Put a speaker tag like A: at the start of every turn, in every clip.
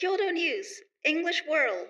A: Kyoto News English World。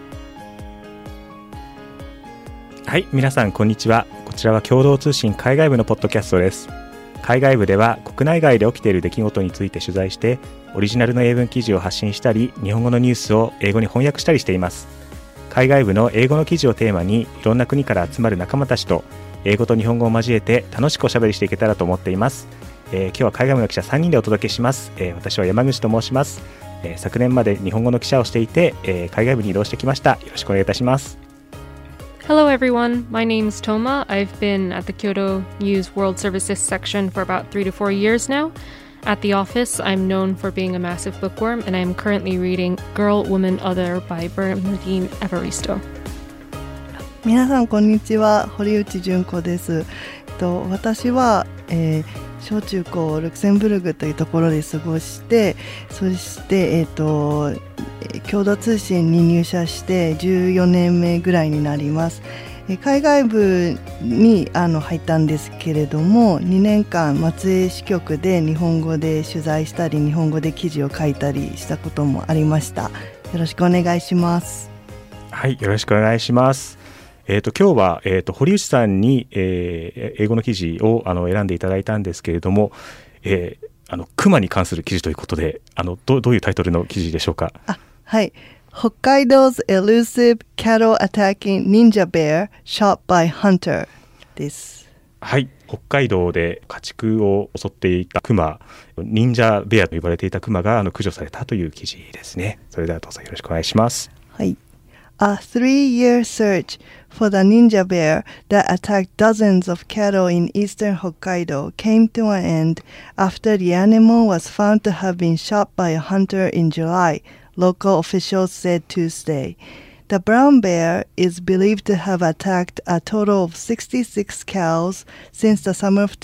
B: はい、皆さんこんにちは。こちらは共同通信海外部のポッドキャストです。海外部では国内外で起きている出来事について取材してオリジナルの英文記事を発信したり、日本語のニュースを英語に翻訳したりしています。海外部の英語の記事をテーマにいろんな国から集まる仲間たちと英語と日本語を交えて楽しくおしゃべりしていけたらと思っています。今日は海外部の記者3人でお届けします。私は山口と申します。昨年まで日本語の記者をしていて、海外部に移動してきました。よろしくお願いいたします。
C: Hello everyone, my name's Toma. I've been at the Kyoto News World Services section for about 3 to 4 years now. At the office, I'm known for being a massive bookworm, and I'm currently reading Girl, Woman, Other by Bernardine Evaristo.
D: 皆さんこんにちは、堀内純子です。私は、小中高ルクセンブルクというところで過ごして、そして、共同通信に入社して14年目ぐらいになります。海外部に入ったんですけれども、2年間松江支局で日本語で取材したり日本語で記事を書いたりしたこともありました。よろしくお願いします。
B: はい、よろしくお願いします。今日は、堀内さんに、英語の記事を選んでいただいたんですけれども、熊に関する記事ということでどういうタイトルの記事でしょうか。
D: はい、北海道's elusive cattle attacking ninja bear shot by hunter です。
B: はい、北海道で家畜を襲っていた熊、忍者ベアと呼ばれていた熊が駆除されたという記事ですね。それではどうぞよろしくお願いします。
D: はい。A 3-year search for the ninja bear that attacked dozens of cattle in eastern Hokkaido came to an end after the animal was found to have been shot by a hunter in July, local officials said Tuesday. The brown bear is believed to have attacked a total of 66 cows since the summer of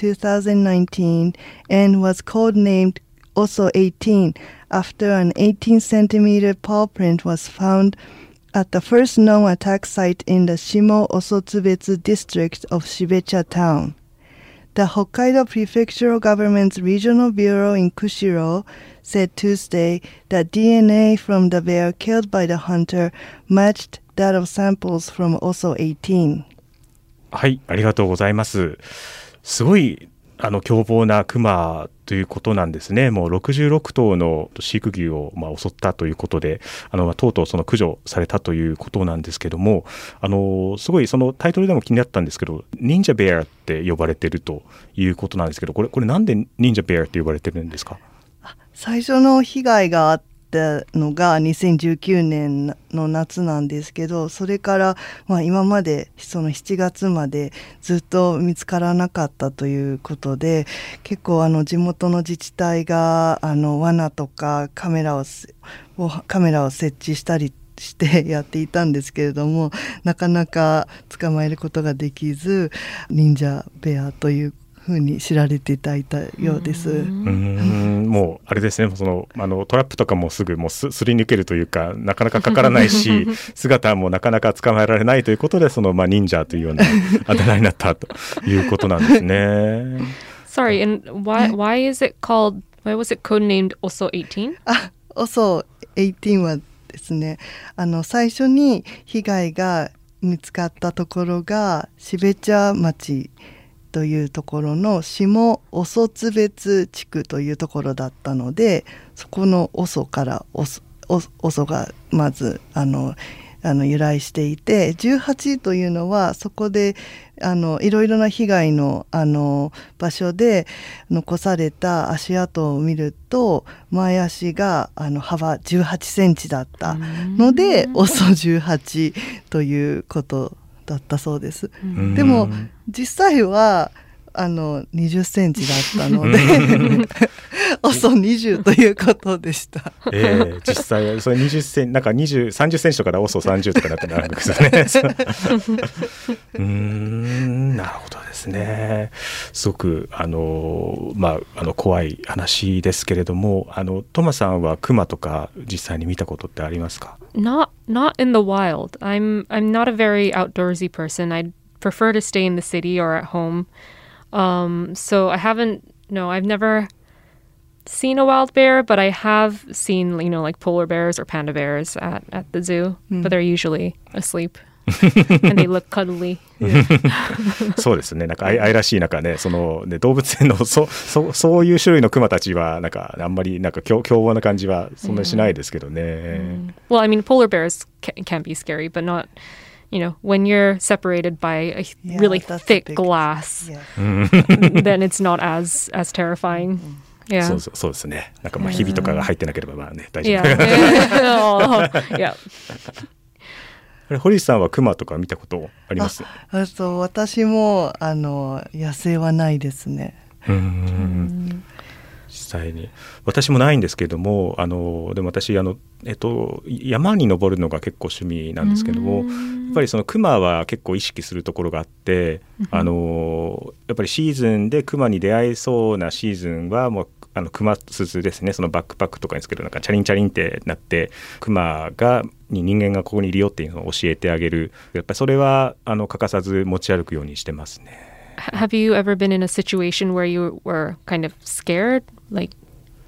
D: 2019 and was codenamed Oso 18 after an 18-centimeter paw print was found at the first known attack site in the Shimo Osotsubetsu district of Shibecha town. The Hokkaido Prefectural Government's Regional Bureau in Kushiro said Tuesday that DNA from the bear killed by the hunter matched that of samples from Oso 18.
B: はい、ありがとうございます。すごい凶暴なクマということなんですね。もう66頭の飼育牛を襲ったということで、とうとうその駆除されたということなんですけども、すごいそのタイトルでも気になったんですけど、忍者ベアって呼ばれてるということなんですけど、これなんで忍者ベアって呼ばれてるんですか？
D: 最初の被害があったのが2019年の夏なんですけど、それから、今までその7月までずっと見つからなかったということで、結構地元の自治体が罠とかカメラを設置したりしてやっていたんですけれども、なかなか捕まえることができず、忍者ベアというふうに知られていたようです。
B: もうあれですね、そのトラップとかもすぐすり抜けるというか、なかなかかからないし姿もなかなか捕まえられないということで、その忍者というようなあだ名になったということなんですね。
C: Sorry, and why was it codenamed Oso 18?
D: Oso 18はですね、最初に被害が見つかったところが標茶町というところの下オソツ別地区というところだったので、そこのオソからオソがまず由来していて、18というのはそこでいろいろな被害の場所で残された足跡を見ると、前足が幅18センチだったのでオソ18ということだったそうです。でも実際は20センチだったのでオソ20ということでした。
B: 実際はそれ20センチ、なんか30センチとかでオソ30とかだったらあるんですよね。なるほどですね。すごく怖い話ですけれども、トマさんはクマとか実際に見たことってありますか
C: ？Not in the wild. I'm not a very outdoorsy person. I'd prefer to stay in the city or at home. So I've never seen a wild bear, but I have seen, like polar bears or panda bears at the zoo, but they're usually asleep. And they look cuddly.
B: そうですね。なんか愛らしいなんかね、そのね動物園のそういう種類のクマたちはなんかあんまりなんか凶暴な感じはそんなにしないですけどね。
C: Well, I mean, polar bears can be scary, but not, when you're separated by a really thick glass, then it's not as terrifying. Yeah.
B: そうですね。なんかまあひびとかが入ってなければまあね大丈夫。
C: Yeah.
B: 堀内さんはクマとか見たことあります？
D: 私も野生はないですね。
B: 実際に私もないんですけども、でも私山に登るのが結構趣味なんですけども、やっぱりそのクマは結構意識するところがあって、やっぱりシーズンでクマに出会えそうなシーズンはもうクマ鈴ですね。そのバックパックとかにつけるなんかチャリンチャリンってなってクマに人間がここにいるよっていうのを教えてあげる。やっぱりそれは欠かさず持ち歩くようにしてますね。
C: Have you ever been in a situation where you were kind of scared? Like...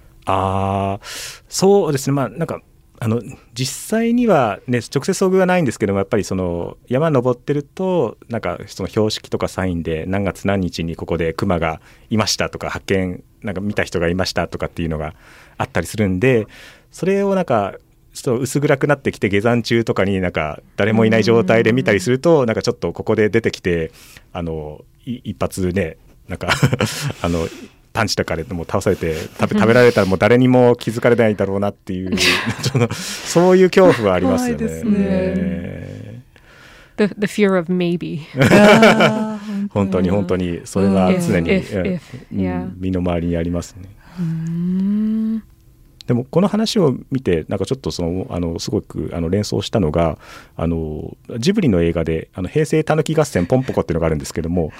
B: そうですね。まあなんか実際にはね直接遭遇はないんですけども、やっぱりその山登ってるとなんかその標識とかサインで何月何日にここでクマがいましたとか発見なんか見た人がいましたとかっていうのがあったりするんで、それをなんかちょっと薄暗くなってきて下山中とかになんか誰もいない状態で見たりするとなんかちょっとここで出てきて一発ねなんかパンチとかでも倒されて食べられたらもう誰にも気づかれないだろうなっていうそういう恐怖はありますよね。
D: 怖いですね。
C: The fear of maybe.
B: 本当にそれは常に身の回りにありますね。でもこの話を見てなんかちょっとすごく連想したのがジブリの映画で平成たぬき合戦ポンポコっていうのがあるんですけども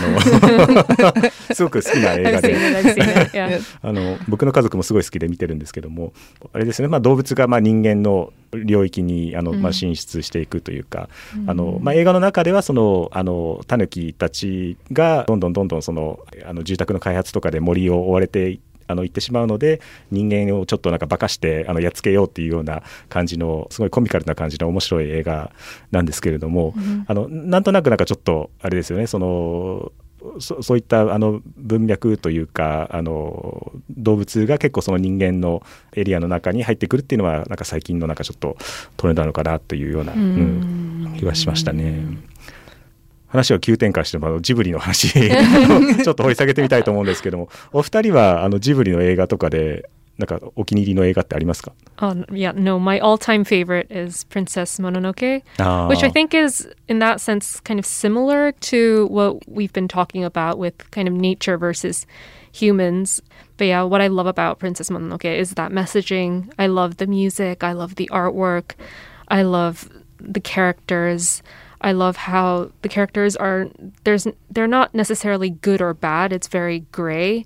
B: すごく好きな映画で僕の家族もすごい好きで見てるんですけども、あれですね、まあ、動物がまあ人間の領域にまあ進出していくというか、まあ、映画の中ではそのタヌキたちがどんどんその住宅の開発とかで森を追われて行ってしまうので人間をちょっとなんか化かしてやっつけようっていうような感じのすごいコミカルな感じの面白い映画なんですけれども、なんとなくなんかちょっとあれですよね、そういった文脈というか動物が結構その人間のエリアの中に入ってくるっていうのはなんか最近のなんかちょっとトレンドなのかなというような、気がしましたね。話を急展開してもジブリの話ちょっと掘り下げてみたいと思うんですけども、お二人はジブリの映画とかでなんかお気に入りの映画ってありますか
C: ？Yeah, no, my all-time favorite is Princess Mononoke, which I think is, in that sense, kind of similar to what we've been talking about with kind of nature versus humans. But yeah, what I love about Princess Mononoke is that messaging. I love the music. I love the artwork. I love the characters.I love how the characters they're not necessarily good or bad. It's very gray.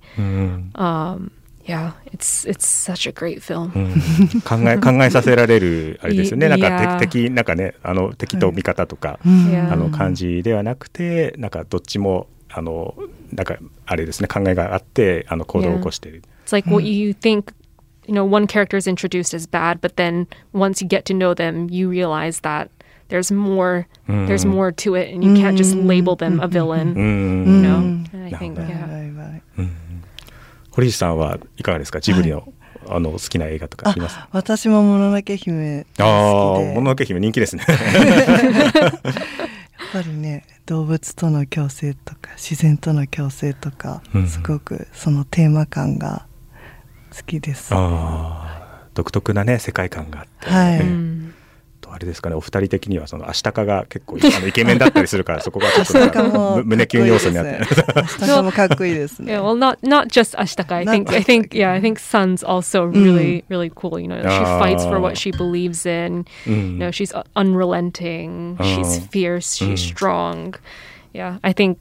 C: Yeah, it's such a great film.
B: 考えさせられるあれですよね。なんかなんかね敵と味方とか感じではなくて、なんかどっちもなんかあれですね、考えがあって行動を起こしている。
C: It's like what you think.One character is introduced as bad, but then once you get to know them, you realize that.There's more to it, and you can't just label them a villain. And I think, yeah.
B: 堀内さんはいかがですか？ジブリの好きな映画とかありますか？
D: 私ももののけ姫好きで。
B: もののけ姫人気ですね。
D: やっぱりね、動物との共生とか自然との共生とか、すごくそのテーマ感が好きです。
B: 独特なね世界観があって。
D: はい。
B: あれですかね、お二人的にはそのアシタカが結構イケメンだったりするからそこがちょっと胸キュン要素になって
D: アシタカもかっこいいですね。
C: Yeah, well, not just Ashtaka. I think Sun's also really cool. She fights for what she believes in. She's unrelenting. She's fierce. She's strong. Yeah, I think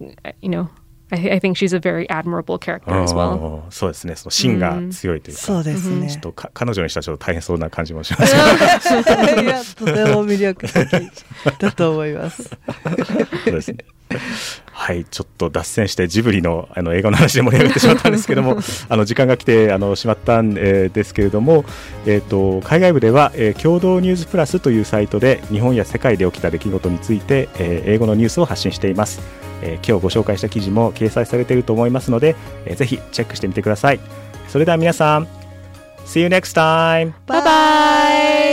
C: I think she's a very admirable character as well.
B: そうですね、その芯が強いというか、
D: そうですね。
B: ちょっと彼女にしたらちょっと大変そうな感じもします。
D: いや、とても魅力的だと思います。
B: そうですね。ははい、ちょっと脱線してジブリの映画の話で盛り上がってしまったんですけども時間が来てしまったんですけれども、海外部では、共同ニュースプラスというサイトで日本や世界で起きた出来事について、英語のニュースを発信しています。今日ご紹介した記事も掲載されていると思いますので、ぜひチェックしてみてください。それでは皆さん See you next time!
D: Bye bye!